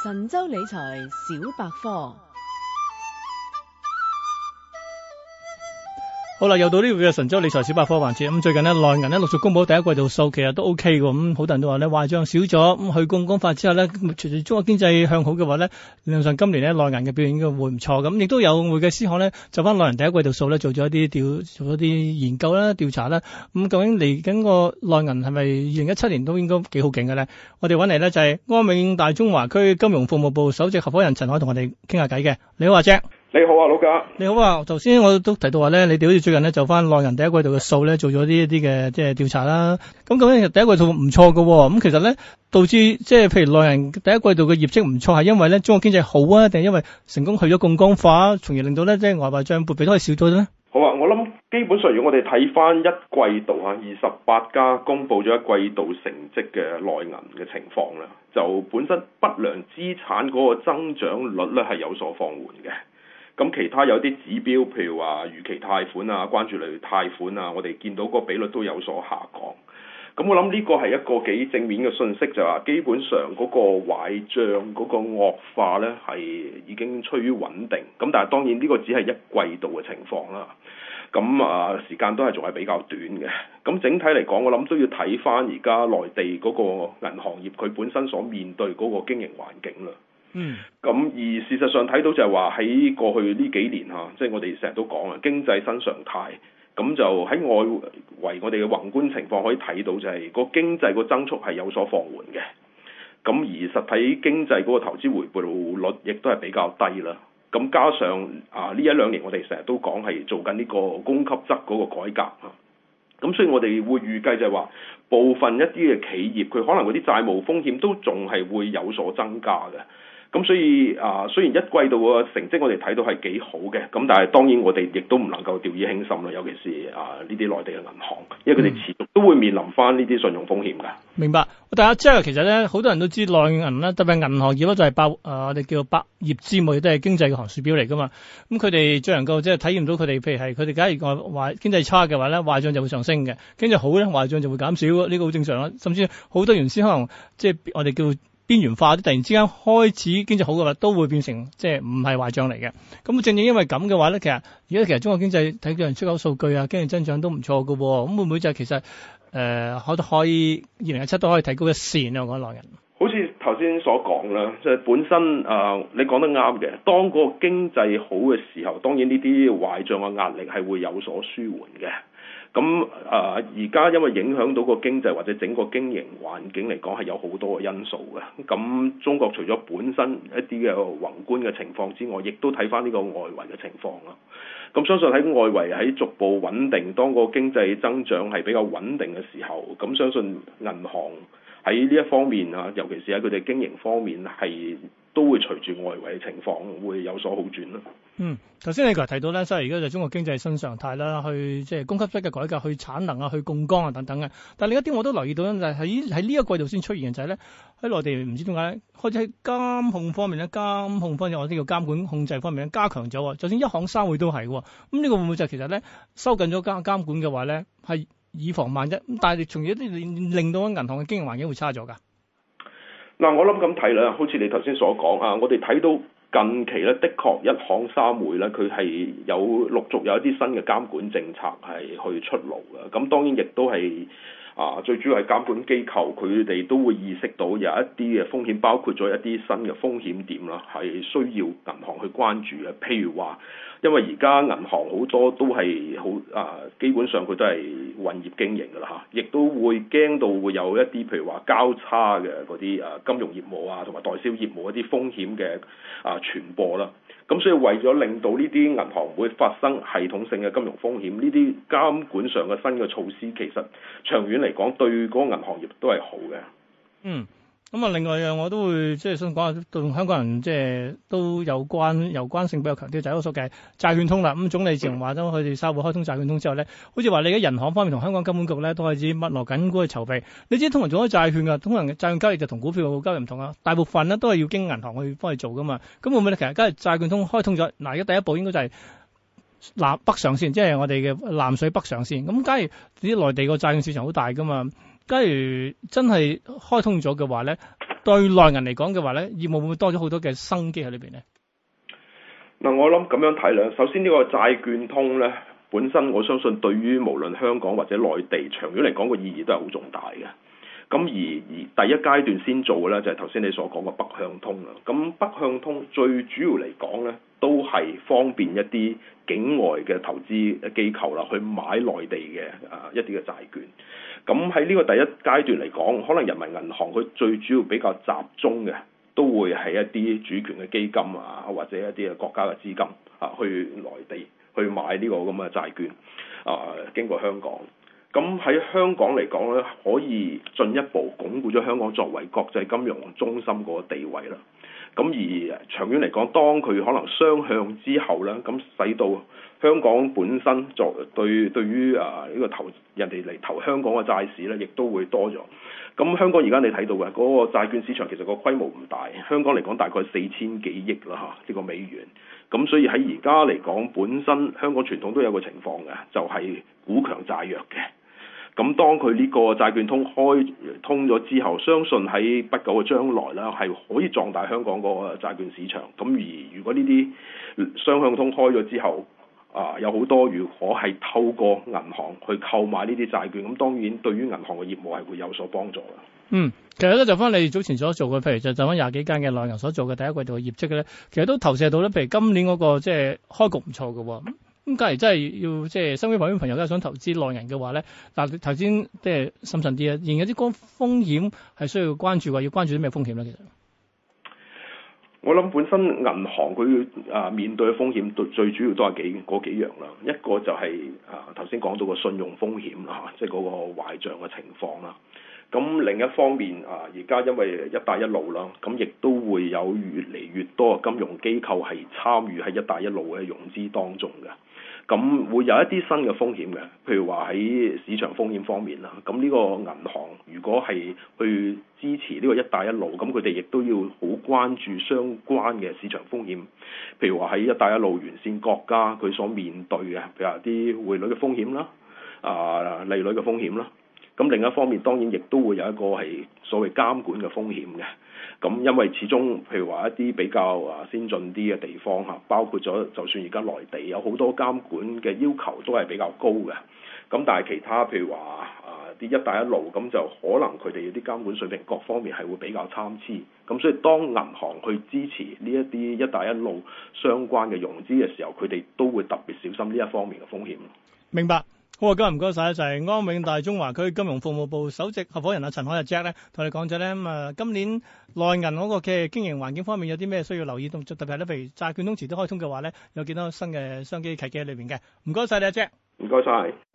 神州理財小百科。 好啦，又到呢個嘅神州理財小百科環節。咁最近呢，內銀呢陸續公布第一季度數，其實都 OK 嘅。咁好多人都話呢，壞賬少咗。咁去槓桿化之後呢，隨住中國經濟向好嘅話呢，理論上今年呢內銀嘅表現應該會唔錯。咁亦都有會計師行呢，就翻內銀第一季度數呢，做咗一啲研究啦、調查啦。咁究竟嚟緊個內銀係咪2017年都應該幾好勁嘅呢？我哋揾嚟呢，就係安永大中華區金融服務部首席合夥人陳海同我哋傾下偈嘅。你好，阿 Jack。 你好啊，老賈。 你好啊，頭先我都提到話咧，你哋好似最近咧就翻內銀第一季度嘅數咧，做咗一啲嘅即係調查啦。咁究竟第一季度唔錯嘅，咁其實咧導致即係譬如內銀第一季度嘅業績唔錯，係因為咧中國經濟好啊，定係因為成功去咗槓桿化，從而令到咧即係外匯賬撥備都係少咗咧？ 好啊，我諗基本上如果我哋睇翻一季度啊，28家公布咗一季度成績嘅內銀嘅情況啦，就本身不良資產嗰個增長率咧係有所放緩嘅。咁其他有啲指標，譬如話逾期貸款啊、關注類貸款啊，我哋見到個比率都有所下降。咁我諗呢個係一個幾正面嘅信息，就話基本上嗰個壞帳嗰個惡化咧係已經趨於穩定。咁但係當然呢個只係一季度嘅情況啦。咁時間都係仲係比較短嘅。咁整體嚟講，我諗都要睇翻而家內地嗰個銀行業佢本身所面對嗰個經營環境啦。咁而事實上睇到就係話喺過去呢幾年即係我哋成日都講啊，經濟新常態，咁就喺外圍我哋嘅宏觀情況可以睇到就係個經濟個增速係有所放緩嘅。咁而實體經濟嗰個投資回報率亦都係比較低啦。咁加上呢一兩年我哋成日都講係做緊呢個供給側嗰個改革啊。咁所以我哋會預計就係話部分一啲嘅企業佢可能嗰啲債務風險都仲係會有所增加嘅。咁所以雖然一季度嘅成績我哋睇到係幾好嘅，咁但係當然我哋亦都唔能夠掉以輕心啦，尤其是呢啲內地嘅銀行，因為佢哋持續都會面臨翻呢啲信用風險㗎。 明白。但係即係其實咧，好多人都知內銀啦，特別係銀行業咧就係我哋叫百業之母，亦都係經濟嘅行樹表嚟㗎嘛。咁佢哋最能夠即係體驗到佢哋，譬如係佢哋假如話經濟差嘅話咧，壞帳就會上升嘅；經濟好咧，壞帳就會減少，呢個好正常啦。甚至好多原先可能即係我哋叫邊緣化啲，突然之間開始經濟好嘅話，都會變成即係唔係壞帳嚟嘅。咁正因為咁嘅話咧，其實中國經濟睇到人出口數據啊，經濟增長都唔錯嘅。咁會唔會就係其實可以2017都可以提高一線啊？我講內銀。 好似頭先所講啦，即係本身你講得啱嘅。當個經濟好嘅時候，當然呢啲壞帳嘅壓力係會有所舒緩嘅。咁而家因為影響到個經濟或者整個經營環境嚟講係有好多嘅因素嘅。咁中國除咗本身一啲嘅宏觀嘅情況之外，亦都睇翻呢個外圍嘅情況啦。咁相信喺外圍喺逐步穩定，當個經濟增長係比較穩定嘅時候，咁相信銀行喺呢一方面尤其是喺佢哋經營方面係都會隨住外圍嘅情況會有所好轉啦。 頭先你提到咧，所以而家就中國經濟新常態啦，去即係供給側嘅改革，去產能啊，去槓桿啊等等嘅。但另一啲我都留意到咧，就係喺呢一個季度先出現嘅就係咧，喺內地唔知點解開始喺監控方面咧，或者叫監管控制方面咧加強咗。就算一行三會都係喎。咁呢個會唔會就其實咧收緊咗監管嘅話咧，係以防萬一？但係從而令到銀行嘅經營環境會差咗㗎。 嗱，我諗咁睇啦，好似你頭先所講我哋睇到近期咧，的確一行三會咧，佢係陸續有一啲新嘅監管政策係去出爐嘅。咁當然亦都係最主要係監管機構，佢哋都會意識到有一啲嘅風險，包括咗一啲新嘅風險點啦，係需要銀行去關注嘅。譬如話，因為而家銀行好多都係基本上佢都係混業經營㗎啦亦都會驚到會有一啲譬如話交叉嘅嗰啲金融業務同埋代銷業務一啲風險嘅傳播啦。咁所以為咗令到呢啲銀行唔會發生系統性嘅金融風險，呢啲監管上嘅新嘅措施，其實長遠嚟講對嗰個銀行業都係好嘅。 咁另外我都會即係想講下，同香港人即係都有關性比較強啲，就係嗰個所謂債券通啦。咁總理自從話咗佢哋沙會開通債券通之後咧，好似話你而家銀行方面同香港金管局咧都開始密鑼緊鼓去籌備。你知通常做咗債券㗎，通常債券交易就同股票交易唔同啊，大部分咧都係要經銀行去幫佢做㗎嘛。咁會唔會咧？其實假如債券通開通咗，而家第一步應該就係北上線，即係我哋嘅南水北上線。咁假如啲內地個債券市場好大㗎嘛。假如真係開通咗嘅話咧， 對內銀嚟講嘅話咧，業務會唔會多咗好多嘅生機喺裏邊咧？ 嗱，我諗咁樣睇啦。首先呢個債券通咧，本身我相信對於無論香港或者內地長遠嚟講個意義都係好重大嘅。咁而第一階段先做嘅咧，就係頭先你所講嘅北向通啦。咁北向通最主要嚟講咧，都係方便一啲境外嘅投資機構啦，去買內地嘅一啲嘅債券。咁喺呢個第一階段嚟講，可能人民銀行佢最主要比較集中嘅，都會係一啲主權嘅基金啊，或者一啲嘅國家嘅資金啊，去內地去買呢個咁嘅債券啊，經過香港。咁喺香港嚟講咧，可以進一步鞏固咗香港作為國際金融中心個地位啦。咁而長遠嚟講，當佢可能雙向之後咧，咁使到香港本身對於呢個人哋嚟投香港嘅債市咧，亦都會多咗。咁香港而家你睇到嘅嗰個債券市場其實個規模唔大，香港嚟講大概4000幾億啦嚇，呢個美元。咁所以喺而家嚟講，本身香港傳統都有個情況嘅，就係股強債弱嘅。咁當佢呢個債券通開通咗之後，相信喺不久嘅將來啦，係可以壯大香港個債券市場。咁而如果呢啲雙向通開咗之後，有好多如果係透過銀行去購買呢啲債券，咁當然對於銀行嘅業務係會有所幫助啦。 其實咧就翻你早前所做嘅，譬如就翻20幾間嘅內銀所做嘅第一季度嘅業績嘅咧，其實都投射到咧，譬如今年嗰個即係開局唔錯嘅喎。咁假如真係要即係身邊旁邊朋友都係想投資內銀嘅話咧，嗱頭先即係審慎啲啊，仍有啲高風險係需要關注嘅，要關注啲咩風險咧？其實我諗本身銀行佢面對嘅風險最主要都係幾樣啦，一個就係頭先講到個信用風險啦，即係嗰個壞賬嘅情況啦。咁另一方面而家因為一帶一路啦，咁亦都會有越嚟越多嘅金融機構係參與喺一帶一路嘅融資當中嘅。咁會有一啲新嘅風險嘅，譬如話喺市場風險方面啦。咁呢個銀行如果係去支持呢個一帶一路，咁佢哋亦都要好關注相關嘅市場風險。譬如話喺一帶一路沿線國家佢所面對嘅，譬如話啲匯率嘅風險啦，利率嘅風險啦。咁另一方面當然亦都會有一個係所謂監管嘅風險嘅。咁因為始終譬如話一啲比較先進啲嘅地方嚇，包括咗就算而家內地有好多監管嘅要求都係比較高嘅。咁但係其他譬如話啲一帶一路咁就可能佢哋啲監管水平各方面係會比較參差。咁所以當銀行去支持呢一啲一帶一路相關嘅融資嘅時候，佢哋都會特別小心呢一方面嘅風險。 明白。好啊，今日唔該晒，就係安永大中華區金融服務部首席合夥人陳凱溢 Jack 咧，同你講咗咧今年內銀嗰個嘅經營環境方面有啲咩需要留意，特別係咧，譬如債券通遲啲開通嘅話咧，有幾多新嘅商機契機喺裏邊嘅。唔該晒你啊 Jack。唔該晒。